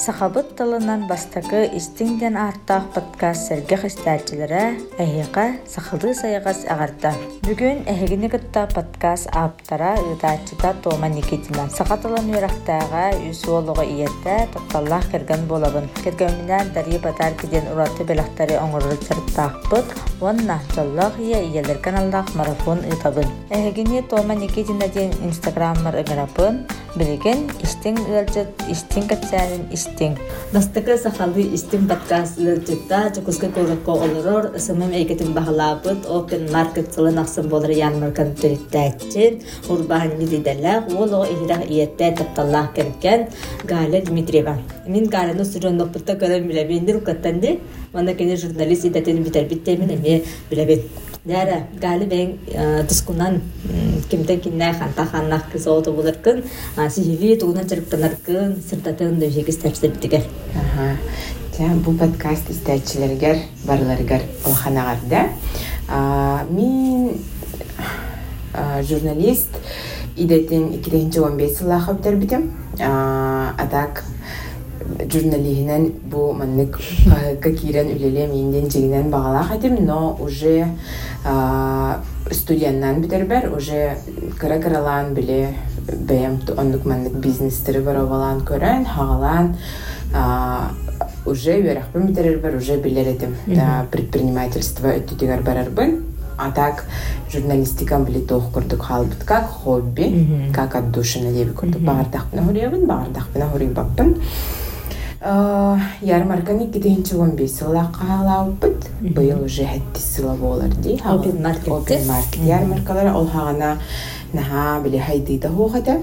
Сахабыт талынан бастакы истиңден артақ подкаст сәргех істәтчілері әйеға сақылды сайығас ағарда. Бүгін әйгіні күтті подкаст аптара ұйдатчыда Тома Никитина. Сақатылын өрақтаға үсуолығы иетті тоқталлақ керген болабын. Кергенінен дария батар кеден ұраты белақтары оңырыр сәрттақпыт, онна жоллақ иелер каналдақ марафон ұйтабын. Әйгіні Тома Никитина ден инстаграммар ұғырапын, білеген истиң ұлжыт, истиң кәтсәнін истиң. Дастықы сақалды истиң подкаст ұлжытта чокуска көріққа олырор, ысымым әйкетін бағылапыт, open market сылын ақсын болыр янмаркан түріттәтчен, ұрбағын недедәләқ, ол оғы иірақ иетті тапталлақ кәркен Галя Дмитриева. Мен Галяны сүрін оқпытта көрім біләбендір ұқаттанды, мана кені журналист едәтені бітер біттемін әме біләбет. Дәрі, Галі бәң тұскунан кемтен кеннәй қанта-қаннақ кіз оғыты болыркын, сихиви туғынан жарыптанаркын, сыртатын дөжек істәпсір бітігер. Бұл подкаст істәтчілергер, барларығар олханағарды. Мен журналист идетін 2015 сылағы өптер бітім. Адак журналигинен бу маннык кирен үлеле менден жегинен бағалақ этим, но уже студияннан битербер, уже кыра-кыралан биле бәйім оннук маннык бизнестері барабалан көрен, хағалан уже верахпын битерербер, уже билер этим предпринимательство өттүтігер барарбын. А так журналистикам биле тоқ көрдік халбыт, как хобби, как отдушина деби көрдік. Бағардақпына хұребін, бағардақпына хұребаппын. Ярмарканы 2015 сыла қағалауыппыт. Бұл уже 7 сыла болар дей. Open market. Ярмаркалары ол хағана наға біле хайдыйда хоғады.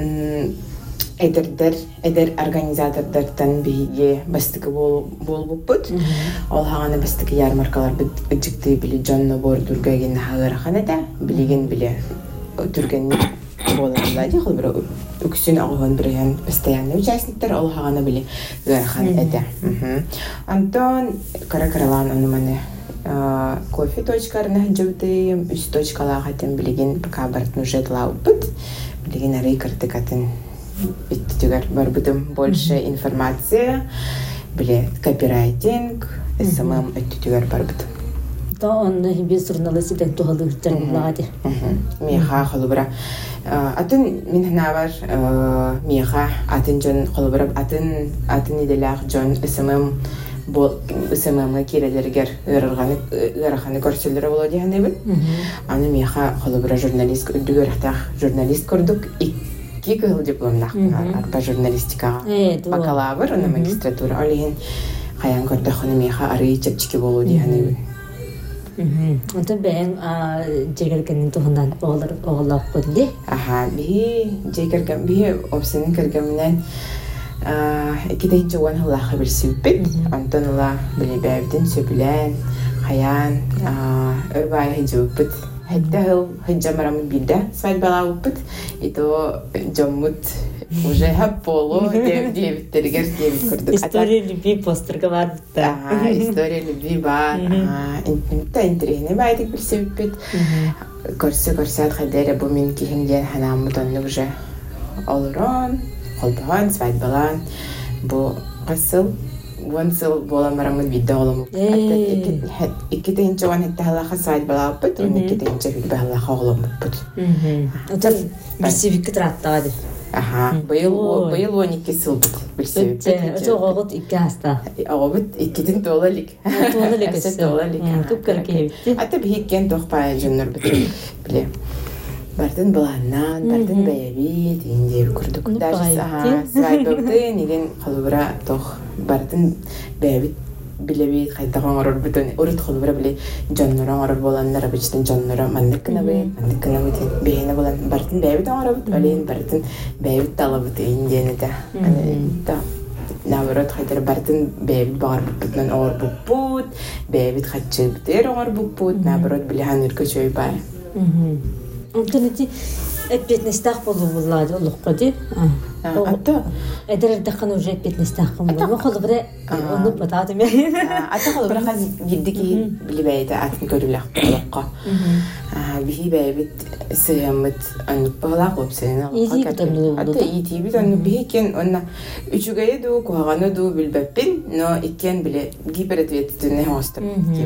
Эдер организатордардан биге бастықы болбуппыт. Ол хағана бастықы ярмаркалар үджікті біле Джонно Бордургаген хағырақаны да білеген біле түргенні боларыла де. Ол бір үксін ағығын бірген постоянный участниктер ол хағана біле ғырақаны әді. Антон кара-каралан оныманы кофе точкарына жауытыйым, үс точкалаға әтін білеген пока бартын уже лаупыт. Білеген арай картыкатын биттигер бар бутум больше информация, биле копирайтинг, самым өттүгер бар бут. То он без журналист иден тухалды журналады. Миха холубра. Атын мен навар миха атын жон холубра атын иделах жон самым бол самым кирелергер ырганы көрсөлдөрө боло дегенде. Аны миха холубра журналист үдүгөртак журналист көрдүк. Кикыл дипломнах по журналистикаға бакалавр, оны магистратура олеген қаян көрді құны меха арый чепчики болу дейгені. Онты бәйін жегергенін тұғындан оғылақ қойды? Бейі опсының кіргімінен 2-ші оған ғылақы бір сөйппет. Онтан ұла біле бәйбден сөпілен, қаян, өрбай хеджөппет. Хеддахыл хеджамарамын билде свадьбала опыт, и то жоммут уже полу девиттергер девит көрдік. История любви постерга бар бітті. История любви бар. Та интерегіне байдық бір сөйппет. Көрсі-көрсі қайдері бұл мен кейінден ханамы тонны уже олырон, қолбаған, свадьбалан. Бұл қасыл. Вансыл боламарамын видео оламын. Иккетейінші оған хетті халаға сайт балапыт, он иккетейінші хүлбі халаға оламыппыт. Отан бірсебеккі тұраттаға деп. Бұйыл 12 сыл бұд бірсебеккі. Өте оғығыт 2 аста. Оғығыт иккетін толалік. Толалік өсі. Көп көрке ебітті. Аты бейіккен тоқпай жөнір бұд. Біле. Бартын баланнан, бартын бәйәбі дейінде көрдік. Даже свайбөкті неген қалыбыра тоқ бартын бәйәбі білебейт қайдаған орыр бұтын. Ұрыт қалыбыра біле жонныран орыр боланнар абычтын жонныра мандыққына бұд, бейіне болан. Бартын бәйәбіт оңыр бұд, олейін бартын бәйәбіт талы бұд дейіндені да. Наоборот, қайдар бартын бәйәбіт бағар бұд, оңыр бұд, бәйәбіт қатшы бұтер оңыр бұд, наоборот біле хан үркі чөй бай. Онтан эти эппетнестах болулади олуққа деп. Ата. Эдердаққан уже эппетнестах болулади. Қолыбыра оны батадым я. Ата қолыбыра қаз еддіки білі бәйді атын көріліқ олуққа. Бихи бәйбіт сыямыт аннук багалаак опсена ити анну биһикен онна үчүгэй ду куагану ду билбеппин но иккен биле гиперответственный хостер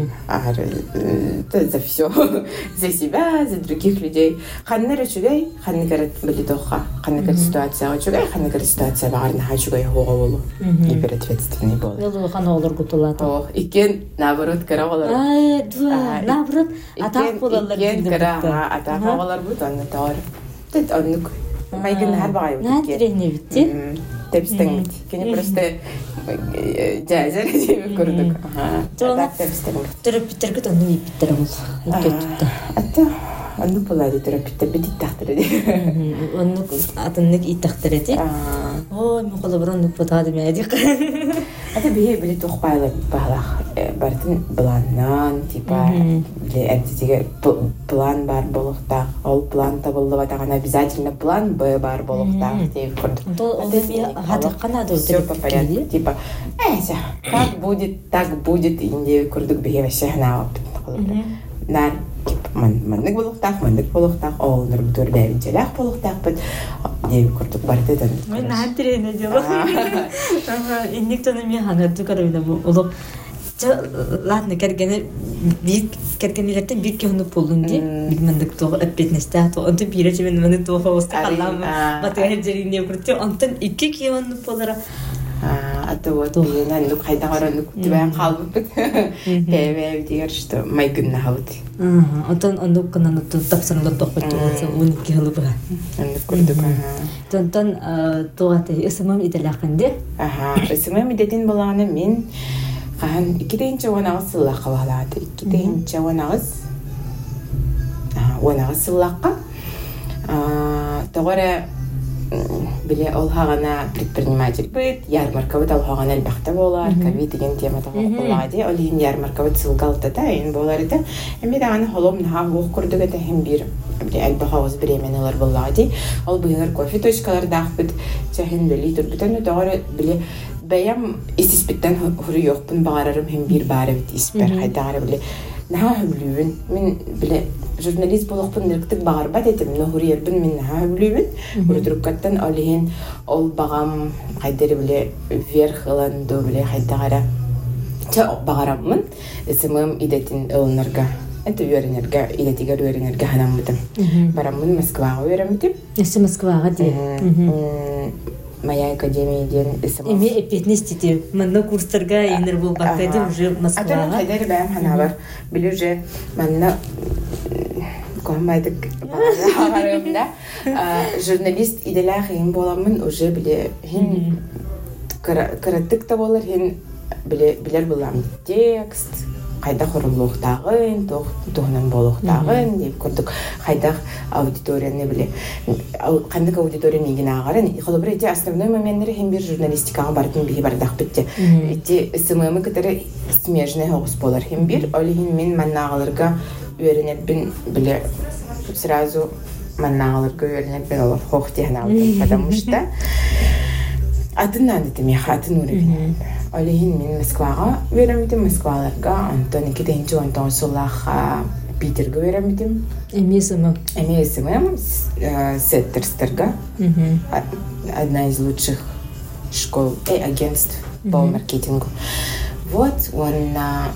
за все за себя за других людей ханнер үчүгэй ханнер биле тоха ханнер ситуация үчүгэй ханнер ситуация багарна хачугэй хого болу гиперответственный болу Ол хан олар гутулат. Иккен наоборот карагалар Наоборот, атак болалар. Иккен кара атак болалар бут анна таар тет аннук майгын хар багай бут Натрехне битти. Тепстен кени просто жазер дип көрдүк Жона тепстен терапевттерге тону биттер бол. Иккетте. атта анну булады терапевт бит тахтыр ди Оннук атыннык иттахтерети. Ой, мен колоброн потады медик. ата бие биле тохпайлар баглах бартын планнан типа биле эдиге план бар болохта ол план табылды батагана обязательно план Б бар болохта деп көрдүк. То мен хатыккана да Всё по порядку типа как будет так будет инде көрдүк бие вообще хана нар маннык болохтак олнор бүтөрбөй желак болохтак бит деп көрдүк барды. Мен натрехне дела. Инник тону мен ханарды карабына улуп ладно кергене бир кергенелерден бир кеуну болдун ди билмендик то эпетнесте то онто бирече мен мени то хоста калам батер жерине көртү онтон 2 кеуну болара ата вот мен ну кайда гаранук тибен калбык бебе дигер что майгынна хавт онтон ондук канан тапсырылып токпойт болсо 12 жыл бара анды көрдүк тонтон тоғаты ысымым иделакынды ысымым идетин болганы мен кан 2-нче онагыз сыллакка баглады 2-нче онагыз сыллакка тогора биле ол хагана предприниматель бит ярмарка бит ал хагана албакта болар ковид деген темада боллади ол ин ярмарка бит сылгалта да ин болар иде эми дагы холом на хог көрдүк эте хем бир биле албагыз беременелер боллади ол быгыр кофе точкалар дахбит чахин били турбитен дагы биле бәям истиспиттен хуру йокпун багарарым хем бир бары бит испер хайдагы биле наха хүлүүн мен биле журналист болохпун нерктик багарба дедим но хурьербин мен наха хүлүүн урдуруккаттан олиһин ол багам хайдары биле вверх ыланду биле хайдагара ча багараммын исемим идетин ылнарга это юринерга идетигер юринерга ханаммытым бараммын Москвага юремитим эсе Москвага ди моя академия ден исем эми эпетнестити манна курстарга инер бул бакайды уже Москвага ата хайдары бәм ханабар биле уже манна комайдык багарымда журналист иделах ин боламын уже биле хин караттык та болар хин билер булам текст кайда хорулуктагын тохнан болохтагын деп көрдүк кайда аудиторияны биле кандык аудитория неген агарын холобре эти основной моменттери хем бир журналистикага бардым бии бардак битти эти СММ кытары смежный хогус болар хем бир олигин мен маннагаларга үйренетбин биле сразу маннагаларга үйренетбин олар хохтехна потому что атынан дитим я хатын үребин олигин мен Москвага үйренетим Москваларга антон 2-нче онтон сулаха Питерге үйренетим эмесим Сеттерстерга одна из лучших школ и агентств по маркетингу вот он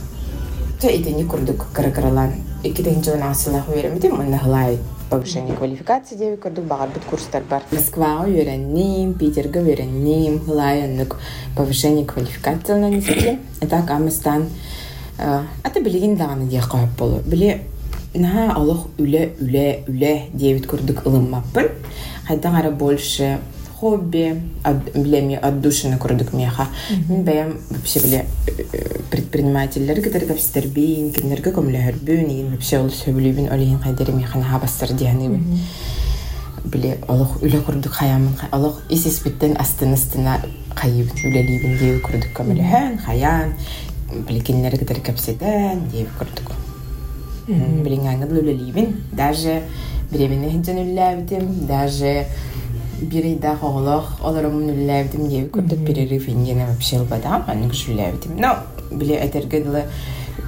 это не курдук каракаралан 2-нче онасылах үйренетим он нахлай повышение квалификации деп көрдүк багар бит курстар бар Москвага үйреним Питерге үйреним хлайыннык повышение квалификацияларына нисетим это камыстан ата билеген даганы дия кайып болу биле на алох үле деп көрдүк ылыммаппын хайдагара больше хобби билеми отдушина көрдүк меха мен бәям вообще биле предпринимательлер кетерге стербин кимнерге көмлөрбүн ин вообще ол сөйлөбүн олин кайдер механ хабастыр дияны биле алох үле көрдүк хаямын алох исиспиттен астына кайып үлелибин деп көрдүк көмлөһөн хаян биле киннерге кетерге сетен деп көрдүк билиңаңы үлелибин даже беременный жөнүлләбитим даже бирейда хоглох олорумун үлләбитим деп көрдүк перерыв ингене вообще албадам анын күшүлләбитим но биле этерге дылы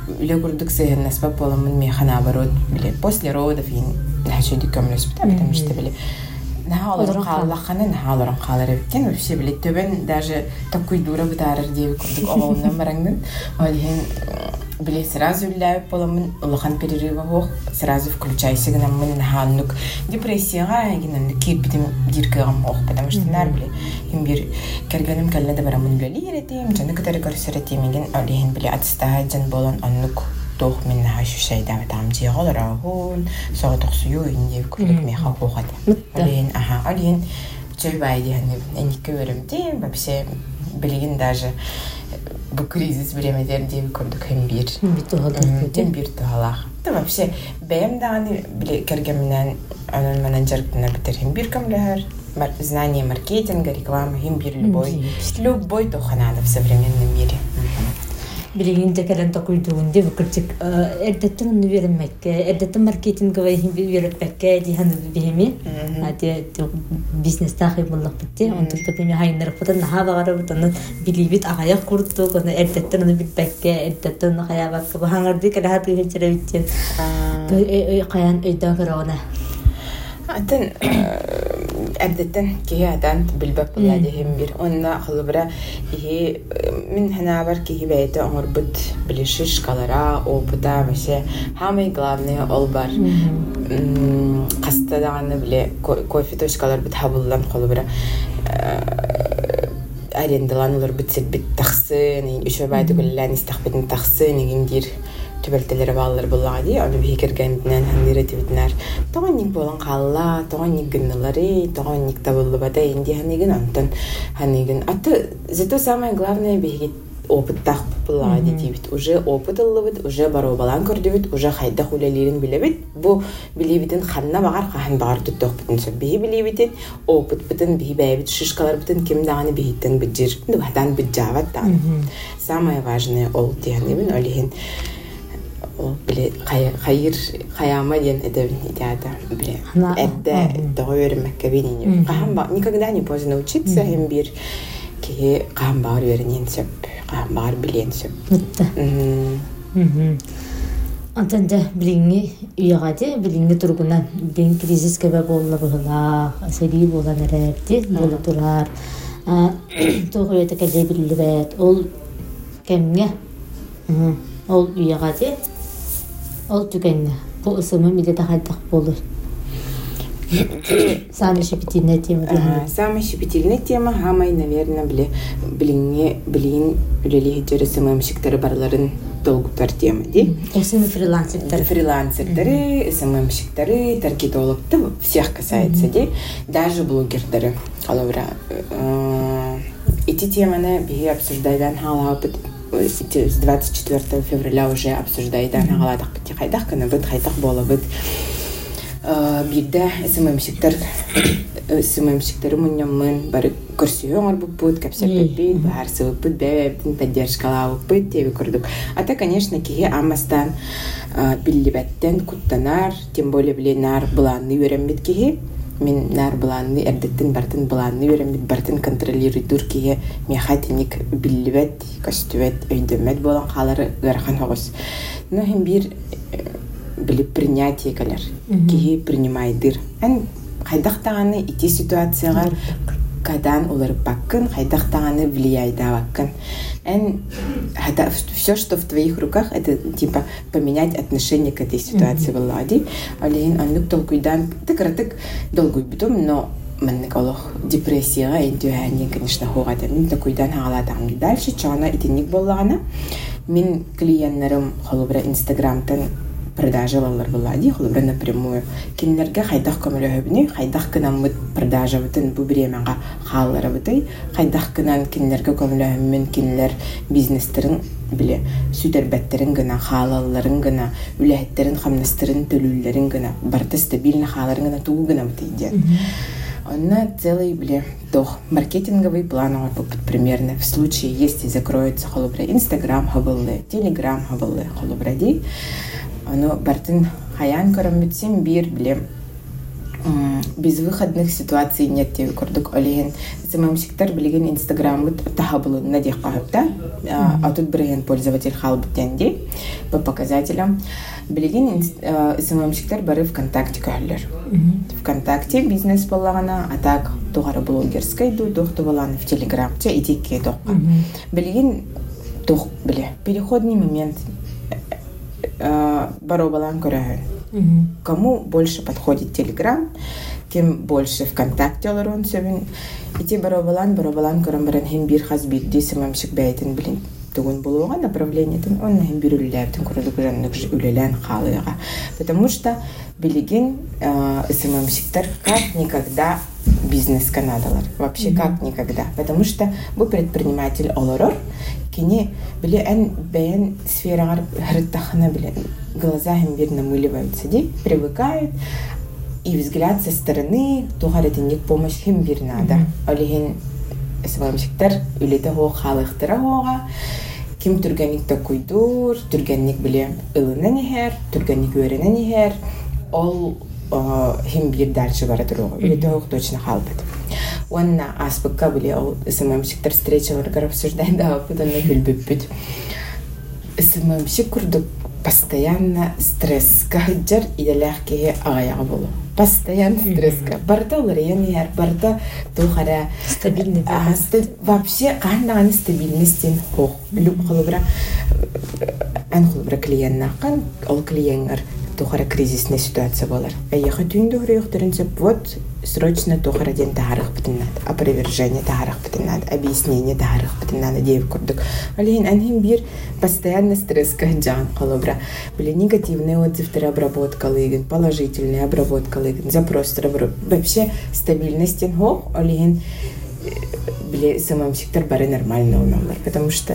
үле курдук сыһыннаспа поламын механ наоборот биле после родов ин нахшыдык көмлөспүт потому что биле наха олорун кааллаханы наха олорун каалар эбиккен вообще биле төбен даже такой дура бытаарыр диэби курдук оголунан бараңдын олиһин биле сразу үллээбип поламын улахан перерыва хуох сразу включайся гынаммын наха оннук депрессияга гинанны кирбитим диркыгам хуох потому что нар биле им бир кергеним келне да барамын үлели еретим жаны кытары көрсөретим еген олиһин биле атыстаа жан болон оннук тох мен наха шушайда там жиголора хун соотоксую инде күлүк меха хуохат олиһин олиһин чөйбайди ханны эникке беремтим вообще билигин даже bu кризис времедер дип көрдүк hem bir туалах. Да вообще бем даны биле кергемнен анан менеджерден битер hem bir көмлөр знание маркетинга, рекламы, hem bir любой тоханада в современном мире. Билигинде келен токуйдуунде букырчык эрдеттен уну беремекке эрдеттен маркетинга берепекке диханы беми ати бизнес тахи буллак битти онтукта беми хайнырык бутан нахабагара бутан билибит агаяк курду кону эрдеттен уну битпекке эрдеттен хаябакка бахангарды келахаты хечере битти каян өйдөн көрөгөнө атын әдеттен киядан билбеп булади hem bir онна хылбыра и мен ханабар ки бейте орбут билишишкалара опыта вообще самое главное ол бар кастадаганы биле кофе точкалар бит хабылдан хылбыра арендаланылар битсет бит таксын еще байды гүллән истахбитин таксын игиндир төбөлтелери баллар буллагы аны бекергенден хандыра тибитнер тогонник болон калла тогонник гыннылары тогонник табылбада инди ханыгын антан ханыгын аты зато самое главное беги опыттах буллагы дибит уже опыт аллыбыт уже баро балан көрдөбүт уже хайда хулелерин билебит бу билебитин ханна багар хан багар туттокбутун сөбби билебитин опыт битин бибебит шишкалар битин ким даганы бихиттен биджир бадан биджават да самое важное ол тияныбын олихин биле хайыр хаяма ден эдебин идеята биле эдде довермекке бинин кахамба никогда не поздно учиться hem bir ки кахамбар вернен сөп кахамбар билен сөп антенде билинги уягате билинги тургунан бин кризис кебе болла була себи бола нерепти болу турар тогойта келе билбет ол кемге ол уягате ол түгенне бу ысымы миде тахайдак болду. Самая щепетильная тема. Самая щепетильная тема, хамай, наверное, блин, үлели жері сымымшықтары барларын долгутар тема, ди? Сымы фрилансердары. Фрилансердары, сымымшықтары, таргетологты, всех касается, ди? Даже блогердары. Алавра, эти теманы биги обсуждайдан халапыт, с 24 февраля уже обсуждайдан халадах пяти хайдах, канабыт, хайдах болабыт. Бирде сымымшықтары мұннамын бары көрсүйоңар бұппыт, кәпсәппет, бағар сывыппыт, бәбәптін поддержкалауыппыт, теві көрдік. Ата, конечно, кеге амастан биллибәттен куттанар, тем более біле нар бұланны өрембет кеге. Мен нар бұланны әрдеттін бартын бұланны өрембет, бартын контролируйдур кеге мехатиник биллибәт, көстүбәт, өйдөмәт болан қалары ғархан хоғыз. Но хем бір билип принятие калар кии принимайдыр ан хайдактаганы ити ситуацияга кадан улар баккын хайдактаганы влияйда баккын ан это все что в твоих руках это типа поменять отношение к этой ситуации влади алин аннук толкуйдан тыкратык долгуй битум но маннык олох депрессияга интуяни конечно хугада мен толкуйдан хагаладам дальше чана итинник боллагана мен клиентлерим холобра инстаграмтан продажалар булади холобра напрямую кинлерге хайдах көмөлөбүнү хайдах кынамыт продажа бутун бу биремага халлары бутай хайдах кынан кинлерге көмөлөбүн кинлер бизнестерин биле сүтербеттерин гына халалларын гына үлехтерин хамнастырын төлүллөрүн гына барта стабильный халарын гына туу гына бутайди она целый биле тох маркетинговый план примерно в случае если закроется холобра инстаграм хабылы телеграм хабылы холобради оно бартын хаян көрөмүтсем бир биле безвыходных ситуаций нет тебе курдук олеген самомщиктар билеген инстаграм вот тахабылы на дех кахапта а тут брейн пользователь халбтенди по показателям билеген самомщиктар бары ВКонтакте каллер ВКонтакте бизнес баллагана а так тугара блогерской духту баланы в Телеграм че идеки дохка билеген дух биле переходный момент баро балан көрәһен. Кому больше подходит Телеграм, тем больше ВКонтакте олорон сөбін. Ити баро балан көрән баран хем бир хазбит десімамшық бәйтін білін тугун болуға направлениятын, он хем бир үліләптін көрілік жаннық үлелән қалыға. Потому что билеген сімамшықтар как никогда бизнес-канадалар. Вообще как никогда. Потому что вы предприниматель олорор, кини биле эн бэйн сферагар хрыттахана биле глаза им вир намыливаются, привыкают, и взгляд со стороны тухаретинник помощь им вир надо. Олихин самомщиктар үлете хо халыхтыра хога, ким түргенник такойдур, түргенник биле ылына нихер, түргенник өрена нихер, ол хим вир дальше баратырога. Үлете хог точно халбет. Уанна аспыкка биле ол самомщиктар встречаларга обсуждать да опытан на күлбүппүт. Самомщик курдук постоянно стресс каджар иделахке аяга болу. Постоянно стресска. Барта уларыян барта тухара стабильный. Вообще кандаган стабильностен хох. Люб холобра ан холобра клиентнакан ол клиенттер тухара кризисная ситуация болар. Аяха түндө хөрөктөрүнсө вот срочно тухара ден таарых битинат. Опровержение таарых битинат, объяснение таарых битинат деп курдук. Алин анхим бир постоянно стресс каджан холобра. Были негативные отзывы обработка лыгин, положительная обработка лыгин, запрос вообще стабильность хох, алин были самомщиктар бары нормально номер, потому что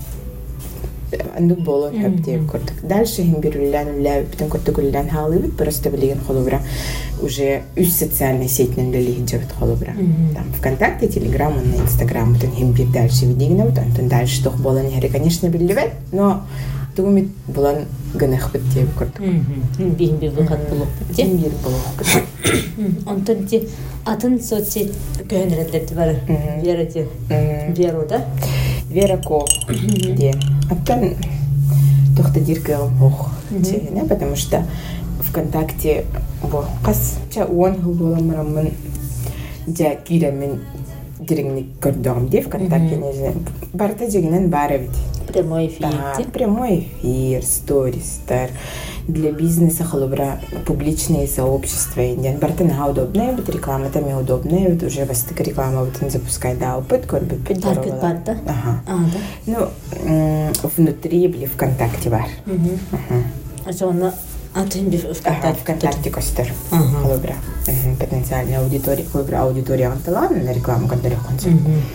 андук болон хептеп курдук. Дальше хим бир үллән битен курдук үллән халыбыт просто билеген холобра уже үз социальной сетинен леген жабыт холобра. Там ВКонтакте, Телеграм, на Инстаграм битен хим бир дальше видигне вот антон дальше тох болон хери конечно билебет, но тугумит болон гынах бит деп курдук. Бин бир выход булып бит. Хим бир булып. Антон ти атын соцсет көнрәтләте бар. Вера да? Вера Ко, где? Оттан тохта диркалым хох, потому что ВКонтакте кас ча он хулболам рамын жа кирамын диригник көрдөгм де ВКонтакте не барта жегенен бара бит. Прямой эфир. Прямой эфир, сторис, для бизнеса холобра публичные сообщества. Бартана удобная, бит реклама там и удобная, вот уже вас так реклама вот он запускает, да, опыт, корбит, Таргет бар, да? Ага. Да? Ну, внутри были ВКонтакте бар. А что она ВКонтакте костер холобра. Потенциальная аудитория, холобра аудитория антала на рекламу, которая концерт.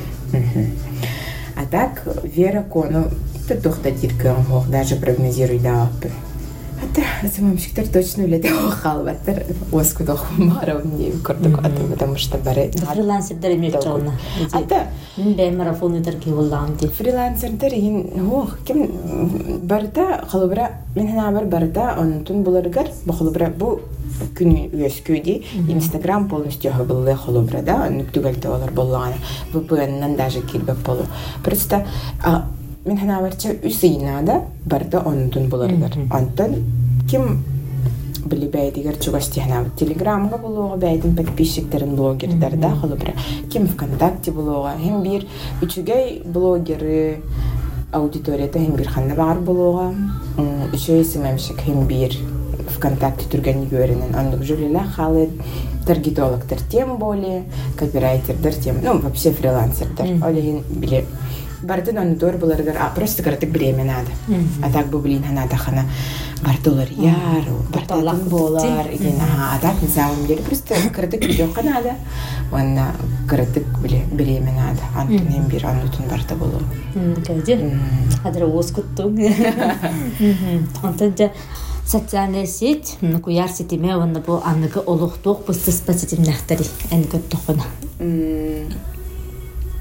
А так Вера Ко, ну, тут тохта дирка хох даже прогнозируй да. Это самомщиктар точно улетел халваттар оскудох маравни курдук аты, потому что бары фрилансердер эмес жолна. Ата бе марафондар ки боллам ди. Фрилансердер ин хох ким барда халбра мен хана барда онтун буларгар бу халбра бу күн үескүди Инстаграм полностью хабылы халбра да нүктүгәлтә алар боллаган. Бу буяннан даже килбеп болу. Просто мен хана барча үсейнада барда онтун буларгар. Антон ким били бәйтигер чугастихна Телеграмга булуга бәйтин подписчиктерин блогерлер да халбра. Ким ВКонтакте булуга һәм бир үчүгәй блогеры аудиторияда һәм бир ханна бар булуга. Үчөй симемшик һәм бир ВКонтакте түргән görенен андык жюлилар халы таргетологтар тем более копирайтердер тем, ну вообще фрилансердер. Олин биле бардын аны дор буларгар, просто кырдык время надо. А так бу блин надо хана бардылар яр, бардалак болар, а так на самом деле просто кырдык видео надо. Ванна кырдык биле время надо. Антон һәм бир анутун барда болу. Кәҗә. Хәзер оскуттың. Антон социальная сеть, куяр сетиме ванна бу анныгы олуктук быстыс позитивнахтари. Эн көттөхүнө.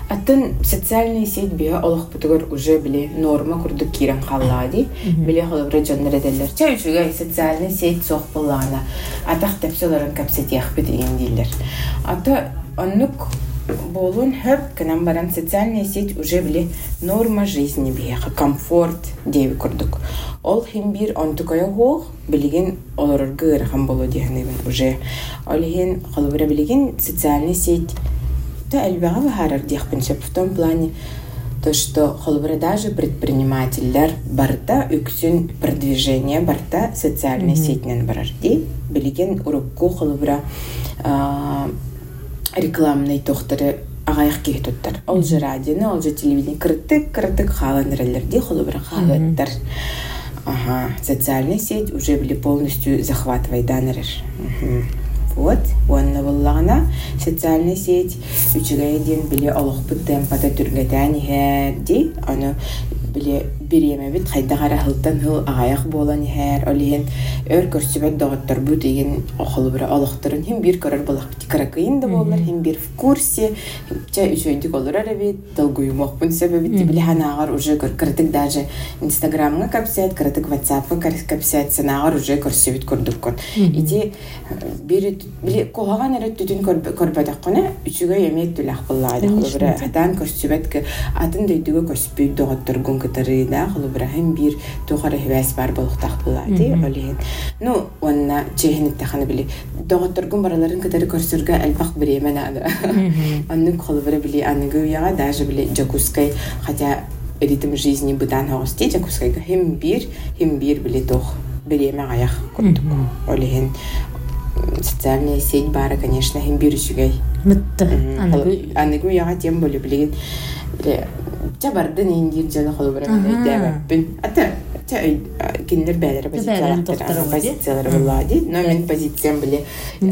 Атын социальная сеть биха олох бутугар уже били норма курдук кирен халлади. Били холобра жаннар эделер. Чайчугай социальная сеть сох булана. Атах тепсоларын капсетех битеген дилер. Ата аннук болун хэп канам баран социальная сеть уже били норма жизни биха, комфорт деви курдук. Ол химбир онтукая хох билеген олорор гыр хам боло диханыбын уже. Олхин холобра билеген социальная сеть да, эльбага вахарар дихпинчеп в том плане, то, что холбра даже предприниматель барта үксүн продвижение барта социальной сетинен барарди, билеген урукку холбра рекламный тохтары агаяк кейтуттар. Ол же радионы, ол же телевидение кыртык халанрелерди холбра халаттар. Ага, социальная сеть уже были полностью захватывай данерер. Вот, уанна буллагана социальная сеть үчүгайден биле олохпут темпата түргәтәни ди, аны биле биреме бит хайдагара хылтан хыл агаяк болан һәр олиен өр көрсөбөт доготтор бу деген охолбура олохторун һәм бир карар булак каракыйын да болар һәм бир в курсе ча үчөйдүк олар бит долгуймак бун себеби биле ханагар уже кыртык даже инстаграмга капсет кыртык ватсапка капсет санагар уже көрсөбөт көрдүк ити бир биле когаган эрет түтүн көрбөдөк кона үчүгө эмет түлак буллады охолбура атан көрсөбөт атын дөйдүгө көрсөбөт доготторгун кытарыда холбрахим бир тухара хвас бар болуктак булады олен. Ну, онна чехин таханы били доготторгун бараларын кытары көрсөргө албак биремен ада. Анны холбра били аныгы яга даже били жакускай хотя ритм жизни быдан хости жакускайга хим бир били тох биреме аяк курдук. Олен социальная сеть бара, конечно, хим бир үчүгай. Мытты. Аныгы яга тем болу билген Чабарды нендир жана холбора дебеппин. Ата киндер бәлер позициялар булады. Но мен позициям биле.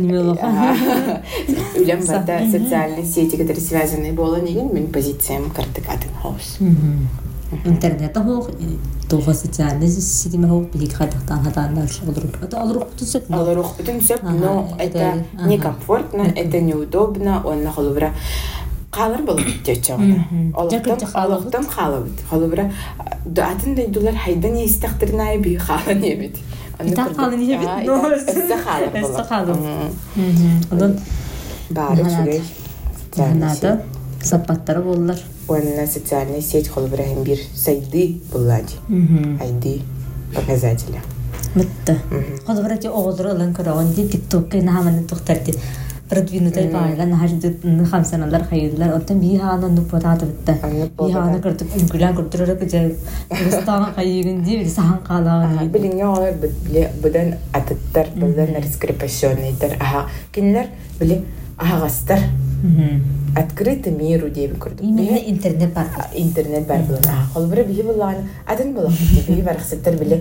Үлем барда социальные сети, которые связаны болон деген мен позициям картык атын хаус. Интернет хох тоха социальные сети мехох билик хатактан хатандар шолдуруп. Это алрух тусеп. Но это некомфортно, это неудобно, он на холбора қалар болып жечағына. Олықтым қалабыд. Қалыбыра, атын дайдулар хайдан естіқтірін ай бей қалан ебет. Итақ қалан ебет? Өсті қалып болып. Өсті қалып. Одан бары жүгей. Ханады сапаттары болылар. Онына социальная сеть қалыбыра хем бір сайды болады. Айды показателя. Мытты. Қалыбыра те оғылдыры олан көріған де тиктокқа нағаманы тұқтарды. продвинутый байлар нахаждык хамсаналар хайыдлар оттан бихана нупататы битте бихана кыртып үңкүлән кыртырып же Кыргызстан хайыгын ди сахан калагын билиңе алар будан атыттар будан раскрепощенныйдер кинлер били агастар открытый миру деп көрдүк. Именно интернет бар. Интернет бар булана. Холбара бии булана. Адын булак бии барахсыттар биле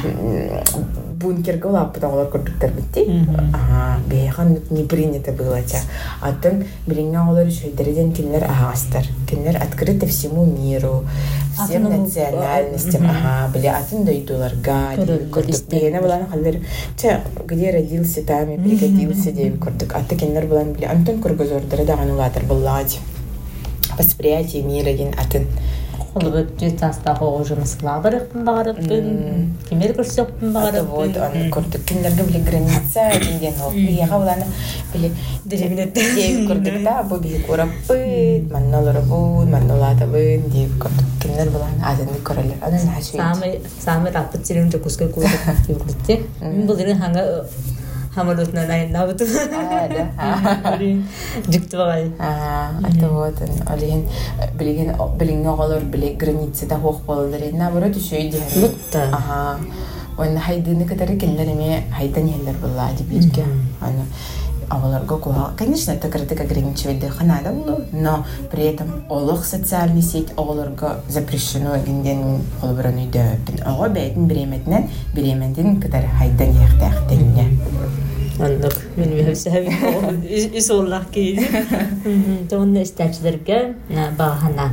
бункерге лап потолар көрдүктөр битти. Бейхан не принято было те. Атын билиңе алар шөйдерден кинлер агастар. Кинлер открыты всему миру, всем национальностям. Биле атын дойдуларга көрдүк. Бейне булана халдер че где родился там и пригодился деп көрдүк. Аты кинлер булан биле антон көргөзөрдөр да анулатор буллади. Восприятие мира ген атын. Холбыт жетаста хожумс лабырыктын багырыптын. Кемер көрсөктүн багырыптын. Вот аны көрдүк. Кинлерге биле граница деген ол. Бияга буланы биле деревнет деп көрдүк да. Бу бии көрөппү, маннолорбу, маннолатабы деп көрдүк. Кинлер буланы адын көрөлөр. Анын хашыйт. Сами раппыт сирин жокускай көрдүк деп көрдүк. Мен булдырын ханга хамалутна найнабыт. Да. Жикту багай. Это вот олен билиң оголор биле границада хох болдыр. Наоборот шөйдү. Мутта. Он хайдыны катары келлереме хайдан елдер буллади бирге. Аны аваларга куга. Конечно, это критика ограничивает ханада булу, но при этом олох социальный сеть оголорга запрещено генден холбраны дөпин. Ого бейтин биременден катары хайдан яхтахтенне. Anlık. Benim hepsi isollah ki. Onun isteçlerge bahana.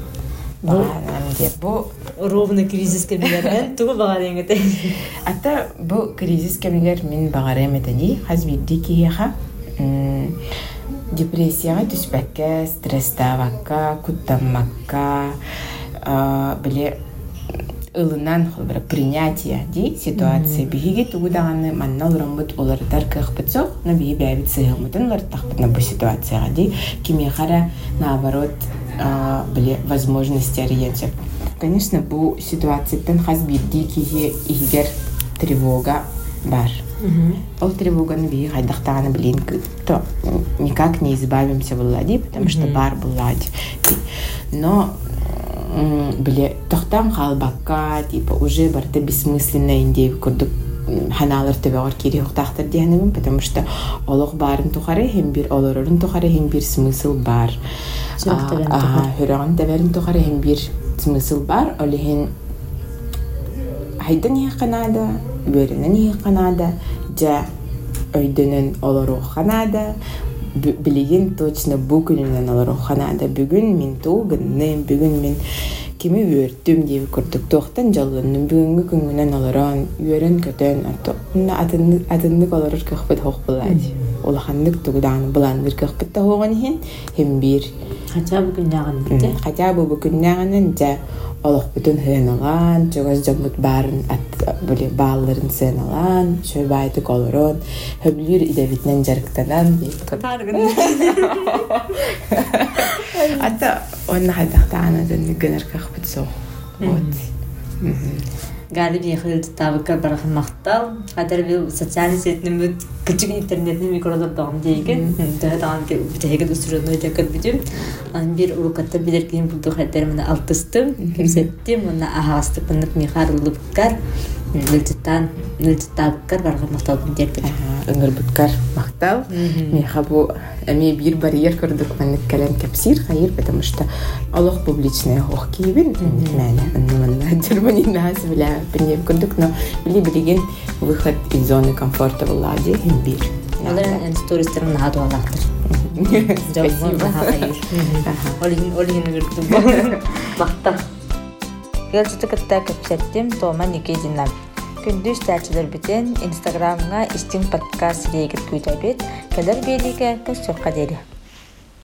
Bu ровно кризис кемелер. Тугу багарен гете. Ата бу кризис кемелер мен багарем этени хазбидди ки яха. депрессияға түспәккә, стресстабакка, куттаммакка, биле ылынан холбара принятие ди ситуация биһиги тугудаганы манна олоромбут олардар кыхпытсох, но бии бәбит сыгымытын лартахпыт на бу ситуацияға ди кимехара наоборот биле возможности ориентир. Конечно, бу ситуацияттан хас бирди киһи игер тревога бар. Ол тревоганы бии хайдахтаганы билин то никак не избавимся буллади, потому что бар буллади. Но биле тохтан халбакка типа уже барта бессмысленно индей курдук ханалар төбөгөр кири хохтахтар дигенем, потому что олох барын тухары хем бир олорорун тухары хем бир смысл бар. Хөрөгөн дәбәрин тухары хем бир смысл бар. Олехен хайдан яқанада, беренен яқанада, жа өйдөнен олору ханада. Билеген точно бүгүнүнөн олору ханада. Бүгүн мен тугынным, бүгүн мен кими өрттүм деп көрдүк. Тоқтан жалланным, бүгүнгү күнгүнөн олорон, өрөн көтөн, атыннык олорор кыхпыт хох булады. Олаханнык тугудан буланыр кыхпытта хогон хин, хем бир. Хотя бы күннәгән дә. Хотя бы күннәгәнен дә олох бүтүн хыналан, чөгөз жамут барын биле балларын сыналан, шөбайды колорон, хөблүр идебитнен жарыктанан дип. Ата онна хадахтана ден генер кахпытсо. Вот. Гали бихил табыка барах мактал, хадер бил социаль сетнем küçük internetni mikrodordan deyken, daha ki bitege üstürüne tekrar bitim. An bir urukata bilirken buldu haderimde altыстым, kimsettim, ona ahastık pınık miharılıbkar, niltittabkar barga maktal derdi. Ыңырбыткар мактал. Меха бу эми бир барьер көрдүк мен калем кепсир хайыр, потому что Аллах публичная хох кибин, мәне, аннаманна Германия нас била, бир көрдүк, но билеген выход из зоны комфорта влади бир. Алар стористерин хаду алактыр. Спасибо. Олин көрдүк. Мактал. Гелчите кытта кепсеттим, тома никединнам. Күндүз тәчилер битен Инстаграмга истин подкаст регит күйтәбет. Кәдер белиге көз соққа дери.